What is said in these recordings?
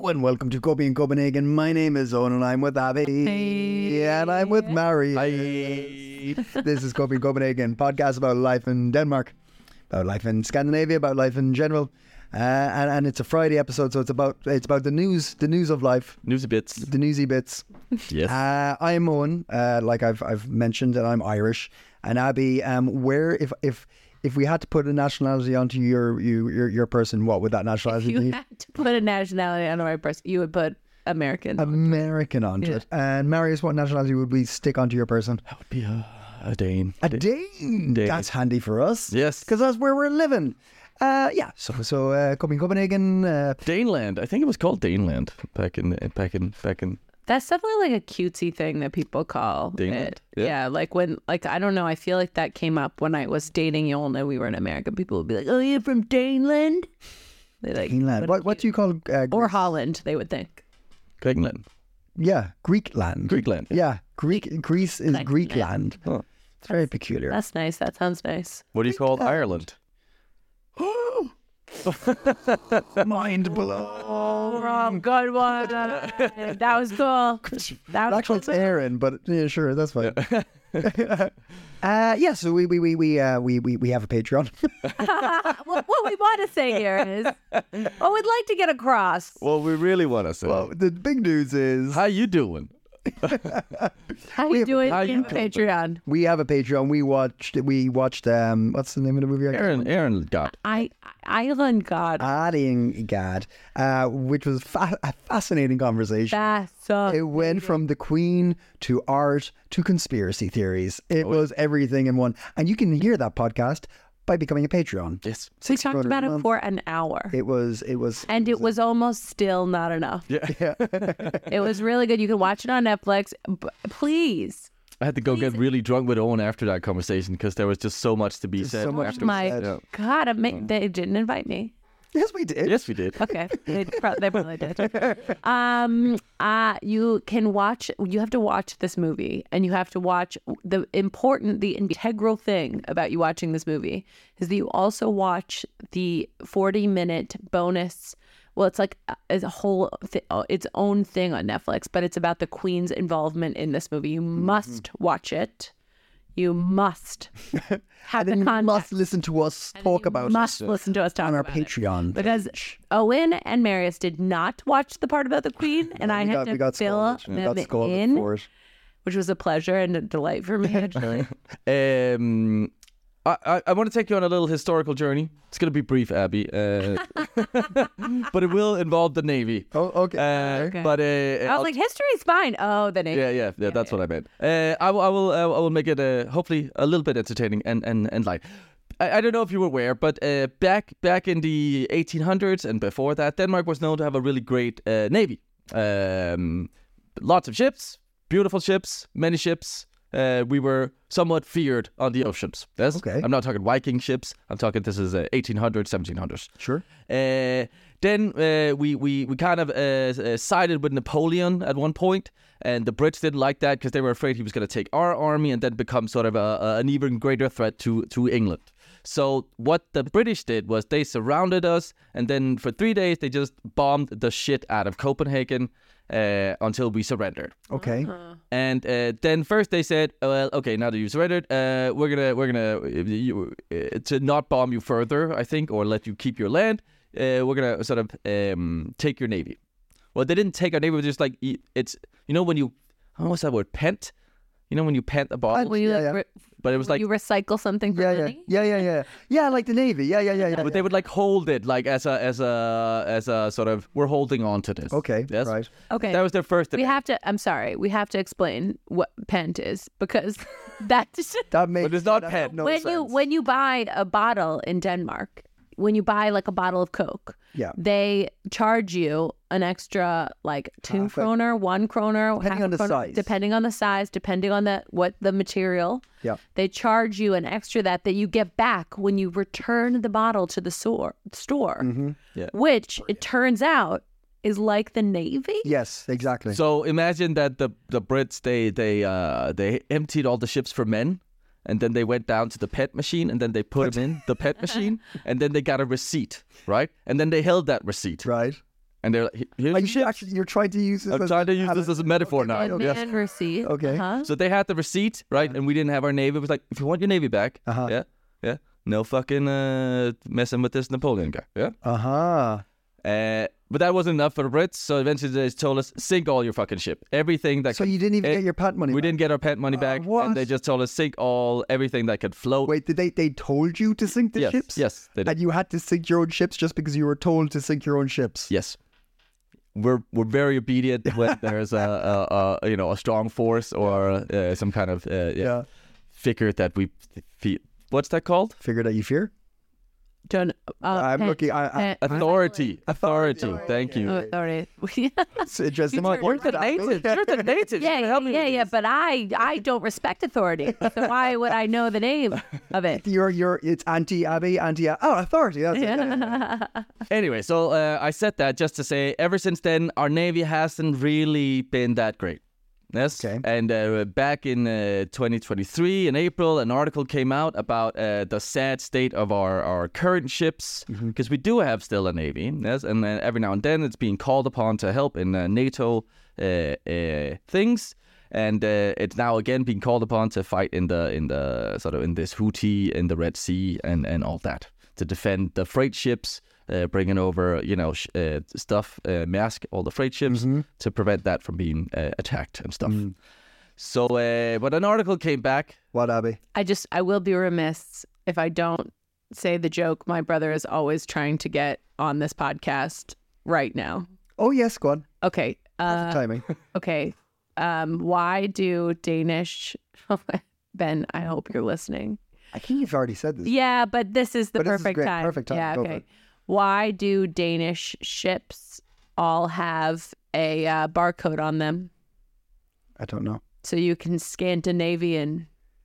and welcome to Copy in Copenhagen. My name is Owen and I'm with Abby. Hey. And I'm with Mary. Hi. This is Copy in Copenhagen, podcast about life in Denmark, about life in Scandinavia, about life in general. And it's a Friday episode, so it's about the news of life. Newsy bits. The newsy bits. Yes. I'm Owen, like I've mentioned, and I'm Irish. And Abby, where if we had to put a nationality onto your person, what would that nationality If you be? had to put a nationality on the right person, you would put American. American onto it. And Marius, what nationality would we stick onto your person? That would be a Dane. A Dane. That's handy for us. Yes. Because that's where we're living. So Copenhagen. Daneland. I think it was called Daneland back in. That's definitely like a cutesy thing that people call Daneland? it. Yeah. Yeah, like when, like, I don't know. I feel like that came up when I was dating Yolanda and we were in America. People would be like, "Oh, you're from Daneland." They like Daneland. What do you call or Greece? Holland? They would think. Greenland. Yeah, Greekland. Greekland. Yeah, Greece is Like, Greekland. Oh. It's very peculiar. That's nice. That sounds nice. What do you call Ireland? Mind blown. Oh, wrong. Good one. That was cool. That was Actually, it's Aaron, but yeah, sure, that's fine. So we have a Patreon. what we want to say here is, what we'd like to get across. Well, we really want to say. Well, the big news is How you doing? How you doing how in you the doing? Patreon? we have a Patreon. We watched what's the name of the movie? Aaron got. Island God. Adding God, which was a fascinating conversation. It went from the Queen to art to conspiracy theories. It was everything in one. And you can hear that podcast by becoming a Patreon. Yes. We talked about a it month. for an hour. It was And it was almost still not enough. Yeah. It was really good. You can watch it on Netflix. Please. I had to go get really drunk with Owen after that conversation because there was just so much to be Just said. so much after. to be My said. Yeah. God, they didn't invite me. Yes, we did. Yes, we did. Okay, they probably did. You have to watch this movie, and you have to watch the integral thing about you watching this movie is that you also watch the 40-minute bonus. Well, it's like a whole its own thing on Netflix, but it's about the Queen's involvement in this movie. You must watch it. You must have And the then you context. must listen to us talk about it Must listen to us talk on our about it. Patreon. Because Owen and Marius did not watch the part about the Queen, and I had to fill them in, for it. which was a pleasure and a delight for me, actually. I want to take you on a little historical journey. It's going to be brief, Abby, but it will involve the Navy. Oh, okay. Okay. But I was like, history's fine. Oh, the name. yeah, that's what I meant. I will make it hopefully a little bit entertaining and light. I don't know if you were aware, but back in the 1800s and before that, Denmark was known to have a really great navy. Lots of ships, beautiful ships, many ships. We were somewhat feared on the oceans. Yes? Okay. I'm not talking Viking ships. I'm talking this is 1800s, 1700s. Sure. Then we kind of sided with Napoleon at one point, and the Brits didn't like that because they were afraid he was going to take our army and then become sort of an even greater threat to England. So what the British did was they surrounded us, and then for 3 days they just bombed the shit out of Copenhagen until we surrendered. Okay. And then first they said, well, okay, now that you surrendered, we're gonna to not bomb you further, I think, or let you keep your land. We're gonna sort of take your navy. Well, they didn't take our navy. It was just like it's when you what's that word, pent? You know when you pent a bottle, Will you, Yeah. but it was like you recycle something for money? Yeah, like the Navy. Yeah. but they would like hold it like as a sort of we're holding on to this. Okay, Yes? right. Okay. That was their first. We have to. I'm sorry. We have to explain what pent is because that's That makes. But it's not that pet. makes no when sense. you buy a bottle in Denmark. When you buy like a bottle of Coke, Yeah. they charge you an extra like 2 Half a- kroner, 1 kroner, Depending half on the kroner, size. depending on the size, depending on the material. Yeah. They charge you an extra that you get back when you return the bottle to the store. Yeah. Which it turns out is like the Navy. Yes, exactly. So imagine that the Brits they emptied all the ships for men. And then they went down to the pet machine, and then they put them in the pet machine, and then they got a receipt, right? And then they held that receipt. Right. And they're like, here's the ships. You're trying to use this. I'm trying to use this as a metaphor now. And receipt. Okay. So they had the receipt, right? And we didn't have our navy. It was like, if you want your navy back, yeah, no fucking messing with this Napoleon guy, yeah. But that wasn't enough for the Brits, so eventually they told us, sink all your fucking ship. Everything that So you didn't even get your patent money We back? didn't get our patent money back. What? And they just told us, sink everything that could float. Wait, they told you to sink the ships? Yes, they did. And you had to sink your own ships just because you were told to sink your own ships? Yes. We're very obedient when there's a strong force or some kind of figure that we feel. What's that called? Figure that you fear? I'm looking. Authority. Thank you. Authority. It's interesting. You're the native. You're the native. Yeah. But I don't respect authority. So why would I know the name of it? It's anti-Abbey, authority. That's it. Anyway, so I said that just to say, ever since then, our Navy hasn't really been that great. Yes. Okay. And back in 2023, in April, an article came out about the sad state of our current ships, because we do have still a Navy. Yes. And every now and then it's being called upon to help in NATO things. And it's now again being called upon to fight in the sort of in this Houthi in the Red Sea and all that, to defend the freight ships. Bringing over, stuff, Maersk, all the freight ships, to prevent that from being attacked and stuff. So, but an article came back. What, Abby? I will be remiss if I don't say the joke my brother is always trying to get on this podcast right now. Oh, yes, go on. Okay. Timing. Okay. Why do Danish... Ben, I hope you're listening. I think you've already said this. Yeah, but this is the perfect time. Perfect time. Yeah, Go okay. Why do Danish ships all have a barcode on them? I don't know. So you can Scandinavian.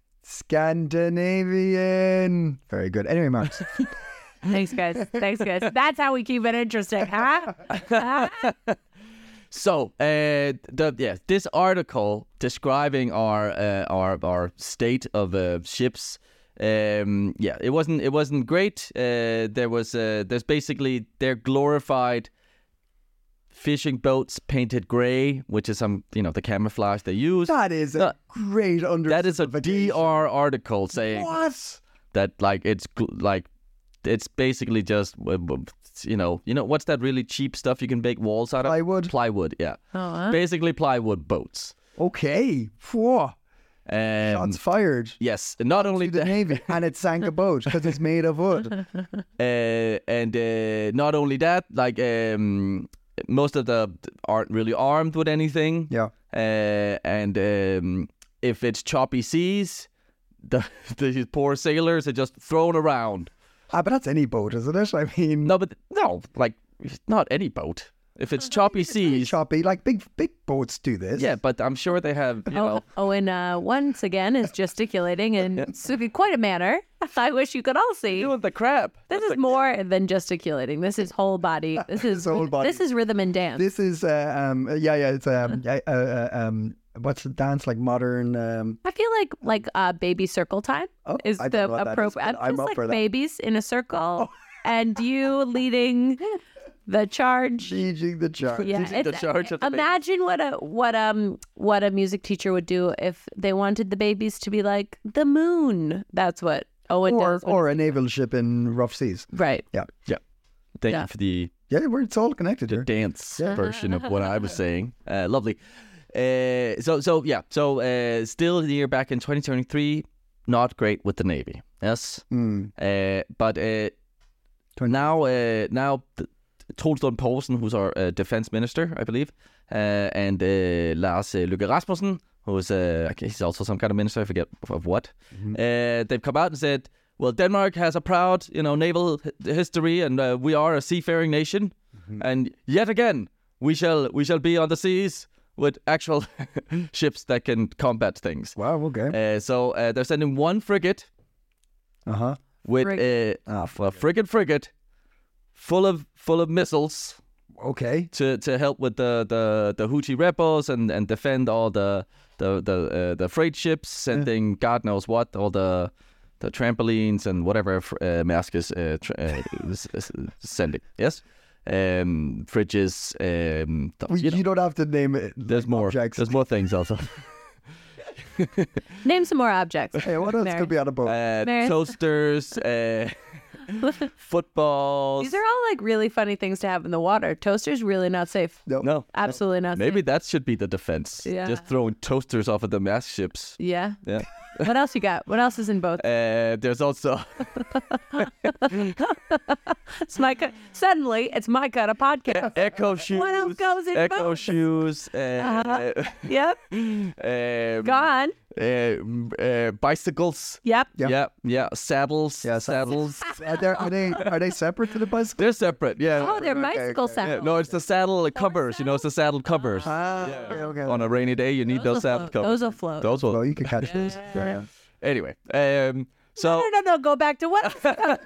Very good. Anyway, Marks. Thanks, guys. That's how we keep it interesting, huh? So, this article describing our state of ships. It wasn't great. There's basically they're glorified fishing boats painted gray, which is the camouflage they use. That is a great understanding. That is a DR article saying what? That it's basically just what's that really cheap stuff you can make walls out of? Plywood, yeah. Basically plywood boats. Okay. Whoa. Shots fired. Yes, not only the Navy, and it sank a boat because it's made of wood. And not only that, most of them aren't really armed with anything. Yeah. And if it's choppy seas, the poor sailors are just thrown around. But that's any boat, isn't it? I mean, no, not any boat. If it's choppy seas, choppy, like big boats do this. Yeah, but I'm sure they have. And once again is gesticulating in quite a manner. I wish you could all see. Doing the crap. This is more than gesticulating. This is whole body. This is whole body. This is rhythm and dance. This is It's what's the dance like modern? I feel like baby circle time is the appropriate. I'm up for that. Babies in a circle, and you leading. The charge. Leading the charge. Yeah, the charge of the imagine what a music teacher would do if they wanted the babies to be like the moon. That's what Owen does. Or a naval ship in rough seas. Right. Yeah. Thank you for the it's all connected here. Dance version of what I was saying. Lovely. So still the year back in 2023, not great with the Navy. Yes. But now. Troels Lund Poulsen, who's our defense minister, I believe, and Lars Løkke Rasmussen, who's he's also some kind of minister, I forget of what. They've come out and said, well, Denmark has a proud, naval history, and we are a seafaring nation, and yet again we shall be on the seas with actual ships that can combat things. Wow. Okay. So they're sending one frigate. With a frigate. Full of missiles, okay, to help with the Houthi rebels and defend all the freight ships, sending God knows what, all the trampolines and whatever Maersk is sending. Yes, fridges. You don't have to name it. There's more. Objects. There's more things also. Name some more objects. Hey, what else Mary. could be on a boat? Mary. Toasters, footballs. These are all like really funny things to have in the water. Toasters really not safe. No. Absolutely not Maybe safe. that should be the defense. Yeah. Just throwing toasters off of the mass ships. Yeah. Yeah. What else you got? What else is in boats? There's also Suddenly, it's my kind of podcast. Echo shoes. What else goes in Echo boats? shoes. Yep. Go on. Bicycles. Yep. Yeah. Saddles. Yeah, saddles. Are they separate to the bicycle? They're separate. Yeah. Oh, they're bicycle okay. saddles. Yeah, no, it's the saddle covers. You know, it's the saddle covers. Okay. On a rainy day, you need those saddle covers. Those will float. Those will. Well, you could catch those. Yeah. Anyway, so No. Go back to what?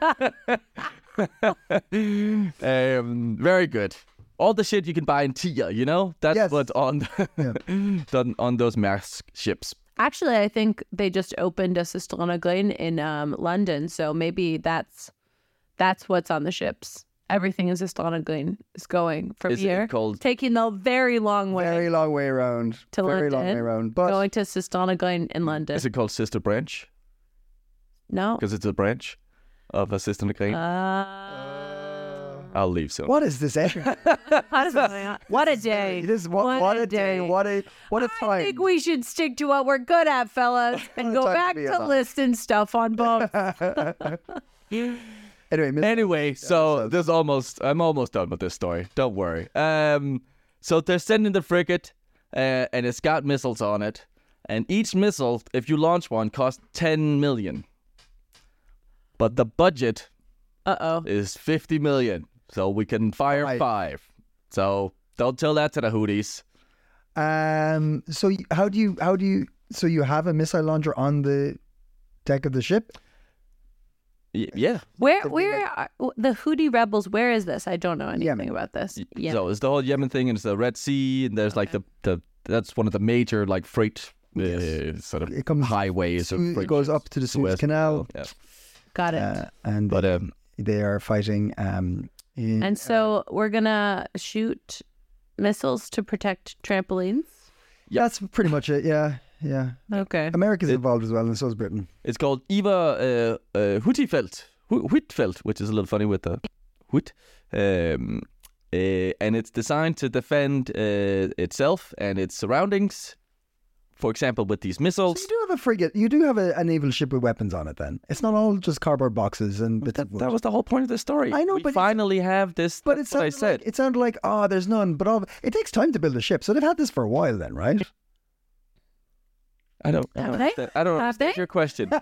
very good. All the shit you can buy in Tia, you know, that's Yes. what's on done on those mass ships. Actually, I think they just opened a Sistranaglin in London, so maybe that's what's on the ships. Everything in Sistranaglin is going from Is here, it called? taking the very long way Very long way around. to Very London, long way around. But going to Sistranaglin in London. Is it called Sister Branch? No. Because it's a branch of a Sister McLean. I'll leave soon. what is this? What a day. It is what a day. What a I time. think we should stick to what we're good at, fellas, and go Time to back be to alive. listing stuff on boats. Anyway, so I'm almost done with this story. Don't worry. So they're sending the frigate, and it's got missiles on it, and each missile, if you launch one, costs 10 million. But the budget is 50 million, so we can fire Right. 5. So don't tell that to the Houthis. So how do you? So you have a missile launcher on the deck of the ship? Yeah. Where are the Houthi rebels? Where is this? I don't know anything Yemen. about this. Yeah. So it's the whole Yemen thing, and it's the Red Sea, and there's like the that's one of the major like freight sort of It comes highways. of It freight goes ships. up to the Suez Suez Canal, Yeah. Got it. and But they are fighting. And so we're gonna shoot missiles to protect trampolines. that's pretty much it. Yeah. Okay. America's involved as well, and so is Britain. it's called Iver Huitfeldt, which is a little funny with the Huit. And it's designed to defend itself and its surroundings. For example, with these So missiles. you do have a frigate. You do have a naval ship with weapons on it. Then it's not all just cardboard boxes and bits of wood. That was the whole point of the story. I know, we but finally have this. But That's it what I sounded said. like it sounded like there's none. But it takes time to build a ship, so they've had this for a while, then, right? I don't Have understand. I don't Have understand they? your question.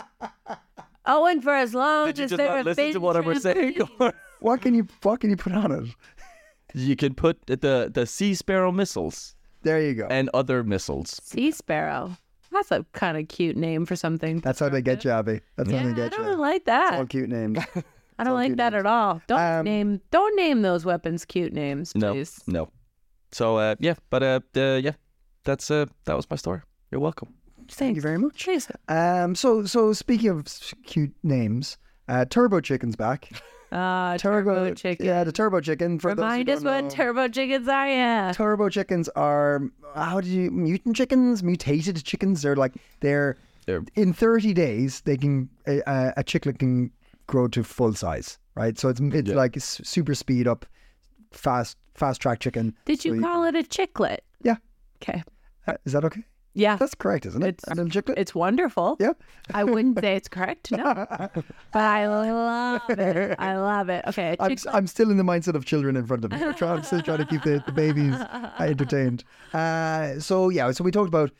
Oh, and for as long Did you as just there not have listen been to what I was saying? trampolines. What can you put on it? You can put the Sea Sparrow missiles There you go. and other missiles. Sea sparrow. That's a kind of cute name for something. That's how they get you, Abby. That's Yeah, how they I get don't you. like It's all that. cute names. I don't all like cute that names. at all. Don't name those weapons cute names, No, please. no. So that's that was my story. You're welcome. Thank you very much. Please. So speaking of cute names, Turbo Chicken's back. Turbo chicken. Yeah, the Turbo Chicken. For Remind those us who don't what know, turbo chickens are, yeah. Turbo Chickens are mutant chickens, mutated chickens. They're in 30 days they can a chicklet can grow to full size, right? So it's like a super speed up, fast track chicken. Did you call it a chicklet? Yeah. Okay. Is that okay? Yeah. That's correct, isn't it? It's- A little chicklet. It's wonderful. Yeah. I wouldn't say it's correct, no. But I love it. I love it. Okay. A chicklet. I'm still in the mindset of children in front of me. I'm still trying to keep the babies entertained. So we talked about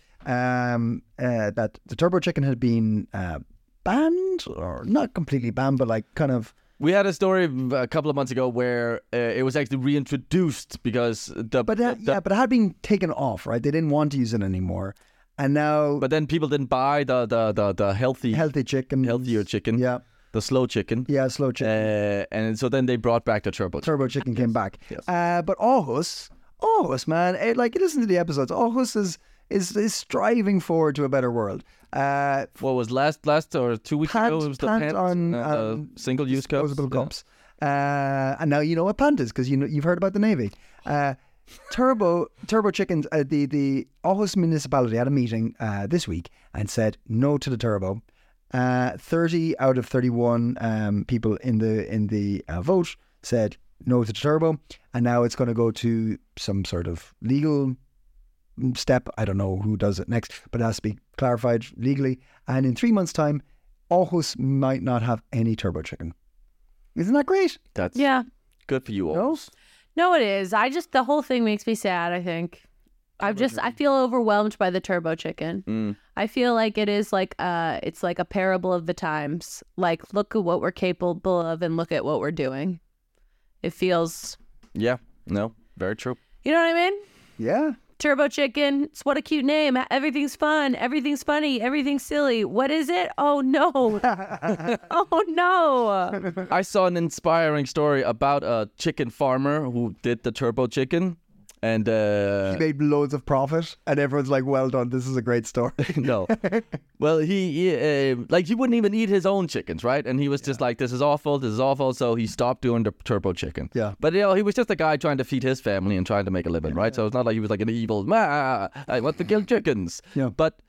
that the Turbo Chicken had been banned, or not completely banned, but like kind of. We had a story a couple of months ago where it was actually reintroduced because But it had been taken off, right? They didn't want to use it anymore, and now. But then people didn't buy the healthy chicken, healthier chicken, Yeah, the slow chicken. yeah, slow chicken. And so then they brought back the turbo. Turbo Chicken came back. Yes. But Aarhus, man, listen to the episodes. Aarhus is striving forward to a better world. What was last or 2 weeks ago? It was the pant pant on single-use cups. disposable cups. And now you know what pant is because you've heard about the Navy. Turbo chickens. The Aarhus municipality had a meeting this week and said no to the turbo. 30 out of 31 people in the vote said no to the turbo, and now it's going to go to some sort of legal step. I don't know who does it next, but it has to be clarified legally. And in 3 months' time, Aarhus might not have any turbo chicken. Isn't that great? That's good for you, Aarhus. No, it is. The whole thing makes me sad, I think. I feel overwhelmed by the turbo chicken. I feel like it is like it's like a parable of the times. Like, look at what we're capable of and look at what we're doing. It feels... Yeah, no, very true. You know what I mean? Yeah. Turbo chicken. It's what a cute name. Everything's fun. Everything's funny. Everything's silly. What is it? Oh, no. Oh, no. I saw an inspiring story about a chicken farmer who did the turbo chicken. And he made loads of profit, and everyone's like, "Well done, this is a great story." No, well, he wouldn't even eat his own chickens, right? And he was just like, "This is awful, this is awful." So he stopped doing the turbo chicken. Yeah, but he was just a guy trying to feed his family and trying to make a living, right? So it's not like he was like an evil, I want to kill chickens. Yeah, but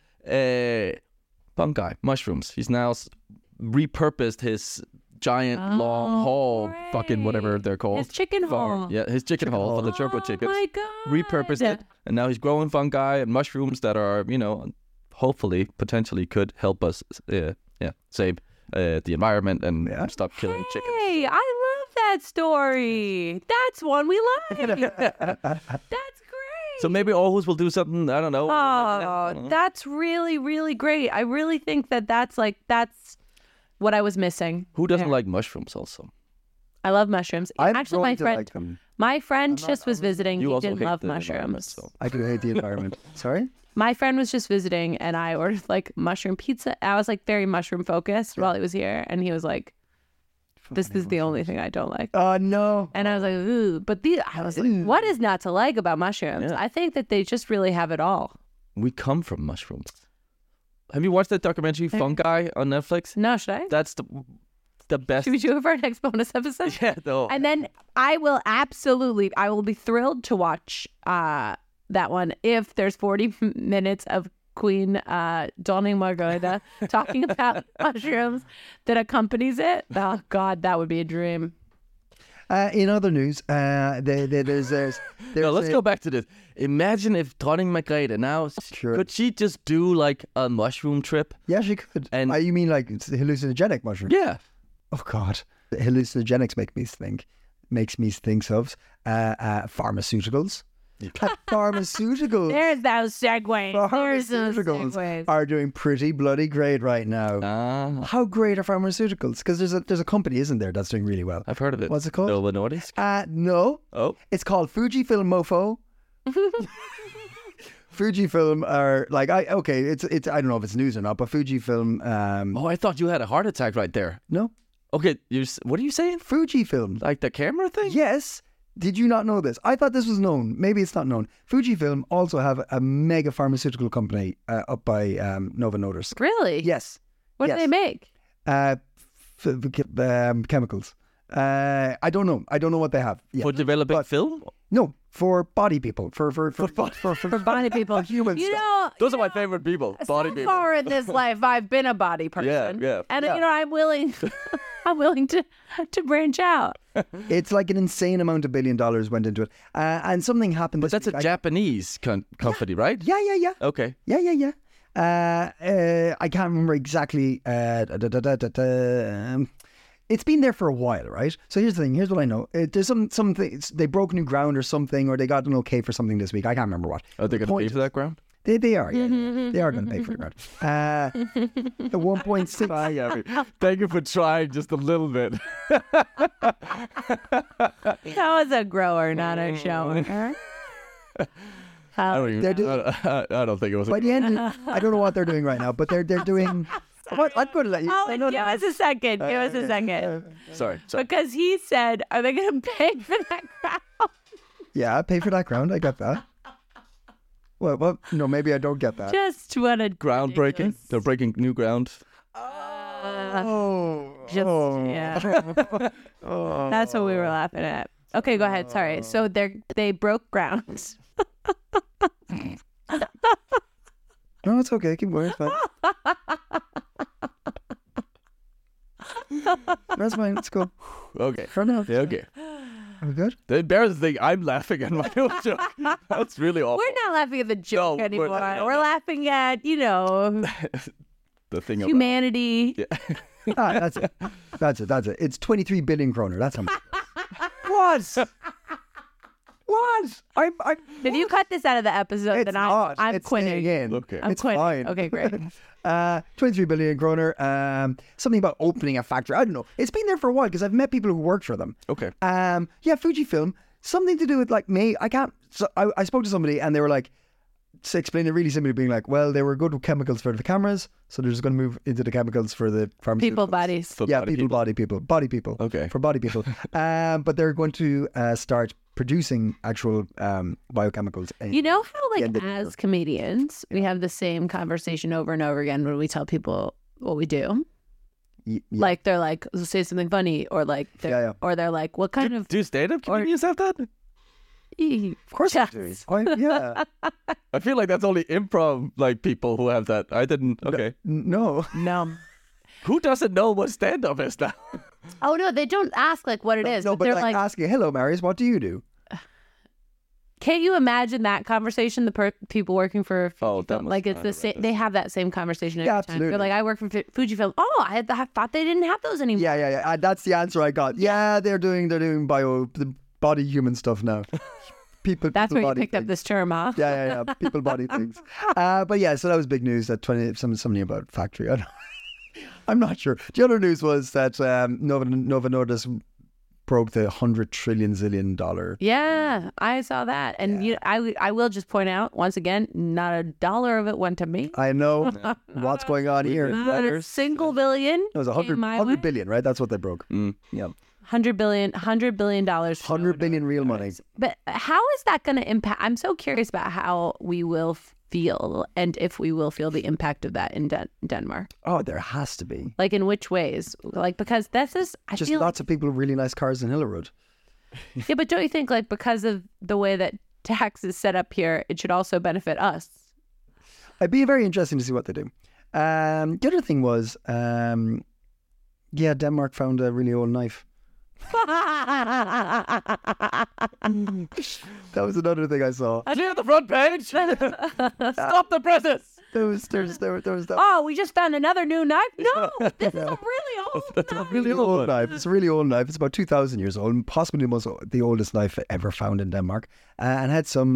fungi, mushrooms. He's now repurposed his giant long haul, fucking whatever they're called. His chicken haul. Yeah, his chicken haul for the turbo chickens. Oh my God. Repurposed it, and now he's growing fungi and mushrooms that are, hopefully, potentially could help us, save the environment and stop killing chickens. Hey, I love that story. That's one we like. That's great. So maybe Aarhus will do something, I don't know. Oh, that's really, really great. I really think that's what I was missing. Who doesn't like mushrooms also? I love mushrooms. Actually, my friend just was visiting. You he also didn't hate love the mushrooms. So. I do hate the environment. Sorry? My friend was just visiting, and I ordered like mushroom pizza. I was like very mushroom focused while he was here, and he was like, "This is the only thing I don't like." Oh no! And I was like, "Ooh," but I was like, "What is not to like about mushrooms?" Yeah. I think that they just really have it all. We come from mushrooms. Have you watched that documentary Fungi on Netflix? No, should I? That's the best. Should we do it for our next bonus episode? Yeah, no. And then I will be thrilled to watch that one if there's 40 minutes of Queen Dawning Margarita talking about mushrooms that accompanies it. Oh God, that would be a dream. In other news, there's no, let's go back to this. Imagine if Dronning Margrethe now, could she just do like a mushroom trip? Yeah, she could. And you mean like hallucinogenic mushroom? Yeah. Oh God, hallucinogenics makes me think of pharmaceuticals. Pharmaceuticals. There's those segues. Pharmaceuticals are doing pretty bloody great right now. How great are pharmaceuticals? Because there's a company, isn't there, that's doing really well. I've heard of it. What's it called? Novo Nordisk? No. Oh. It's called Fujifilm Mofo. Fujifilm are like it's I don't know if it's news or not, but Fujifilm. I thought you had a heart attack right there. No. Okay, what are you saying? Fujifilm, like the camera thing? Yes. Did you not know this? I thought this was known. Maybe it's not known. Fujifilm also have a mega pharmaceutical company up by Novo Nordisk. Really? Yes. What do they make? Chemicals. I don't know. I don't know what they have. For developing film? No, for body people. For body people. Humans. Those are my favorite people. Body people. So far in this life, I've been a body person. Yeah. And I'm willing. I'm willing to branch out. It's like an insane amount of $1 billion went into it, and something happened. But that's a Japanese company, right? Yeah. Okay. Yeah. I can't remember exactly. It's been there for a while, right? So here's the thing. Here's what I know. There's something. They broke new ground or something, or they got an okay for something this week. I can't remember what. Are they going to pay for that ground? They are, yeah. They are going to pay for the ground. The 1.6. Hi, Gabby. Thank you for trying just a little bit. That was a grower, not a shower. I don't think it was. By the end, I don't know what they're doing right now, but they're doing. What? I'm going to let you. Give us a second. Sorry. Because he said, "Are they going to pay for that ground?" Yeah, pay for that ground. I got that. Well, no, maybe I don't get that. Just what a groundbreaking. They're breaking new ground. Yeah. That's what we were laughing at. Okay, go ahead. Sorry. So they broke ground. No, it's okay. Keep going. It's fine. That's fine. Let's go. Okay. For now. Yeah, okay. Are we good? The embarrassing thing, I'm laughing at my own joke. That's really awful. We're not laughing at the joke anymore. We're laughing at, the thing humanity. That's it. That's it. It's 23 billion kroner. That's how much. What? If you cut this out of the episode, then I'm it's quitting. In. Okay. I'm it's quitting. fine. Okay, great. 23 billion kroner. Something about opening a factory. I don't know. It's been there for a while because I've met people who worked for them. Okay. Yeah, Fujifilm. Something to do with like me. I can't. So I spoke to somebody and they were like, to explain it really simply, being like, well, they were good with chemicals for the cameras, so they're just going to move into the chemicals for the pharmaceuticals. People bodies. So Body people. Okay. For body people. But they're going to start producing actual biochemicals. You know how, like, as comedians, we have the same conversation over and over again when we tell people what we do. Yeah. Like, they're like, say something funny, or like, or they're like, what kind of... Do stand-up comedians have that? Of course yes. I do. Yeah. I feel like that's only improv like people who have that. I didn't. Okay. No. Who doesn't know what stand-up is now? Oh, no, they don't ask, like, what it is. No, but they're like asking, hello, Marius, what do you do? Can't you imagine that conversation? The people working for Fujifilm, like it's the same. They have that same conversation every time. Absolutely. They're like, I work for Fujifilm. Oh, I thought they didn't have those anymore. Yeah. That's the answer I got. Yeah, they're doing the body human stuff now. People. That's where you body picked up this term, huh? Yeah. People body things. But yeah, so that was big news. That something about factory. I'm not sure. The other news was that Novo Nordisk broke the $100 trillion. Yeah, I saw that, and I will just point out once again, not a dollar of it went to me. I know what's going on here. Not a single billion. It was 100 billion, right? That's what they broke. Yeah. $100 billion. $100 billion real money. But how is that going to impact? I'm so curious about how we will feel, and if we will feel the impact of that in Denmark. Oh, there has to be. Like, in which ways? Like, because this is... Just lots of people with really nice cars in Hillerud. Yeah, but don't you think, like, because of the way that tax is set up here, it should also benefit us? It'd be very interesting to see what they do. The other thing was, Denmark found a really old knife. That was another thing I saw. Clear the front page. Stop the presses. There was that. Oh, we just found another new knife? No, this is a really old knife. It's a really old knife. It's about 2,000 years old, possibly the oldest knife ever found in Denmark, and had some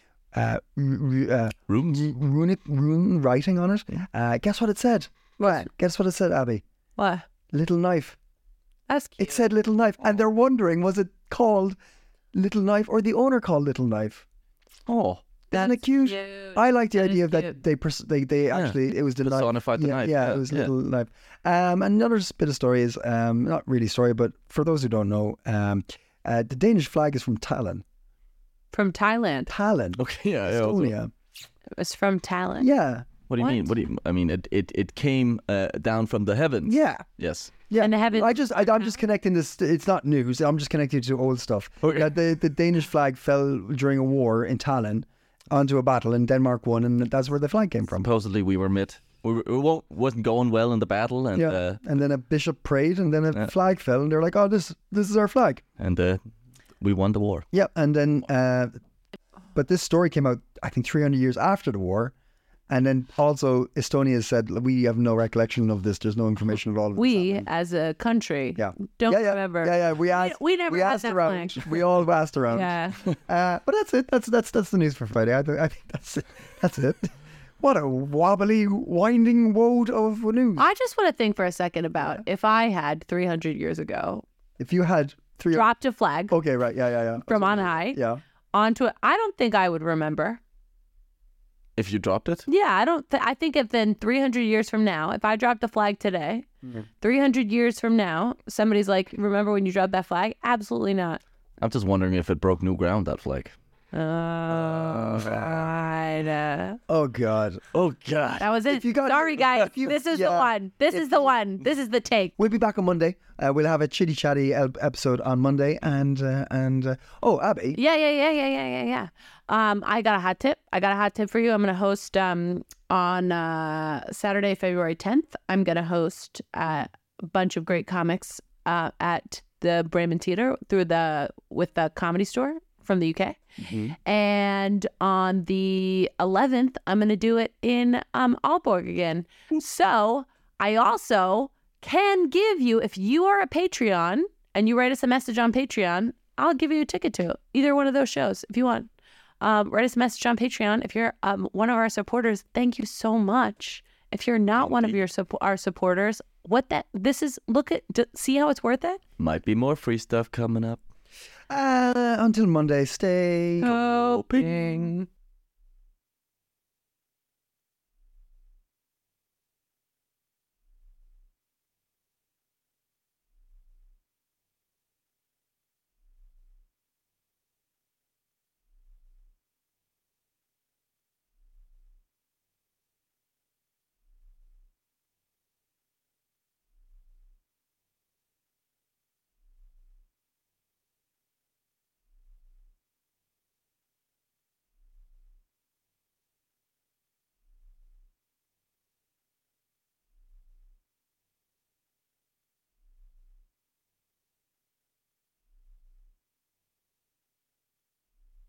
rune writing on it. Guess what it said? What? Guess what it said, Abby? What? Little knife. That's cute. It said Little Knife, and they're wondering, was it called Little Knife or the owner called Little Knife? Oh, isn't it cute? I like the idea of that they actually it was the personified the knife. Yeah, it was Little Knife. Another bit of story is not really story, but for those who don't know, the Danish flag is from Tallinn. From Thailand. Tallinn. Okay, yeah, Estonia. It's from Tallinn. Yeah. What do you mean? What do you? I mean, it came down from the heavens. Yeah. Yes. Yeah. And the heavens. I'm just connecting this. It's not news. I'm just connecting it to old stuff. Okay. Yeah, the Danish flag fell during a war in Tallinn onto a battle, and Denmark won, and that's where the flag came from. Supposedly, we wasn't going well in the battle, and and then a bishop prayed, and then a flag fell, and they're like, "Oh, this is our flag," and we won the war. Yeah, and then, but this story came out, I think, 300 years after the war. And then also Estonia said, we have no recollection of this. There's no information at all. We, as a country, don't remember. Yeah. We never asked had that around. flag. We all asked around. Yeah. But that's it. That's the news for Friday. I think that's it. That's it. What a wobbly, winding woad of news. I just want to think for a second about if I had 300 years ago. If you had dropped a flag. Okay, right. Yeah. From on high. Yeah. Onto it. I don't think I would remember. If you dropped it? Yeah, I think if then 300 years from now, if I dropped the flag today, 300 years from now, somebody's like, remember when you dropped that flag? Absolutely not. I'm just wondering if it broke new ground, that flag. Right. Oh God. Oh God. That was it. Sorry, guys. This is the one. This is the one. This is the take. We'll be back on Monday. We'll have a chitty chatty episode on Monday, and oh, Abby. Yeah. I got a hot tip. For you. I'm going to host on Saturday, February 10th. I'm going to host a bunch of great comics at the Bremen Theater with the Comedy Store from the UK. Mm-hmm. And on the 11th, I'm going to do it in Aalborg again. So I also can give you, if you are a Patreon and you write us a message on Patreon, I'll give you a ticket to either one of those shows if you want. Write us a message on Patreon. If you're one of our supporters, thank you so much. If you're not one of our supporters, see how it's worth it? Might be more free stuff coming up. Until Monday, stay hoping.